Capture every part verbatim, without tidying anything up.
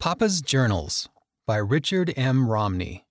Papa's Journals by Richard M. Romney.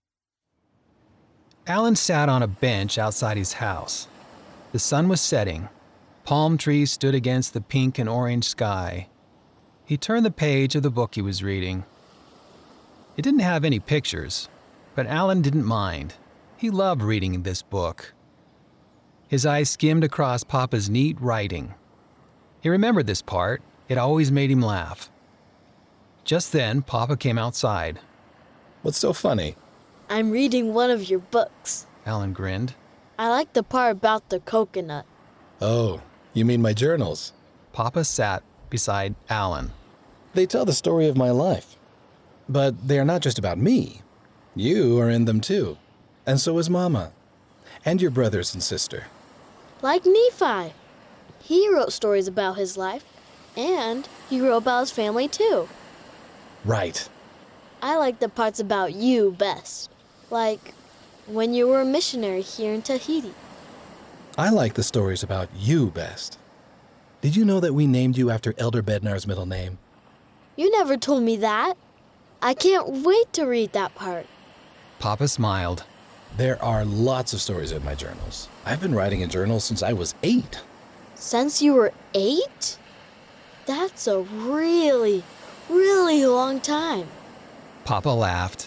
Alan sat on a bench outside his house. The sun was setting. Palm trees stood against the pink and orange sky. He turned the page of the book he was reading. It didn't have any pictures, but Alan didn't mind. He loved reading this book. His eyes skimmed across Papa's neat writing. He remembered this part. It always made him laugh. Just then, Papa came outside. What's so funny? I'm reading one of your books. Alan grinned. I like the part about the coconut. Oh, you mean my journals? Papa sat beside Alan. They tell the story of my life. But they are not just about me. You are in them too. And so is Mama. And your brothers and sister. Like Nephi. He wrote stories about his life. And he wrote about his family too. Right. I like the parts about you best. Like when you were a missionary here in Tahiti. I like the stories about you best. Did you know that we named you after Elder Bednar's middle name? You never told me that. I can't wait to read that part. Papa smiled. There are lots of stories in my journals. I've been writing in journals since I was eight. Since you were eight? That's a really, really long time. Papa laughed.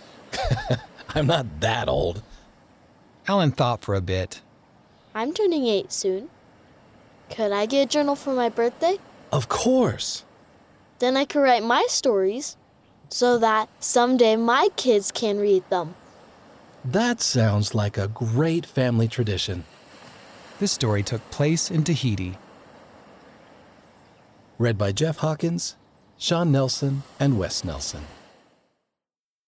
I'm not that old. Alan thought for a bit. I'm turning eight soon. Could I get a journal for my birthday? Of course. Then I could write my stories so that someday my kids can read them. That sounds like a great family tradition. This story took place in Tahiti. Read by Jeff Hawkins, Sean Nelson, and Wes Nelson.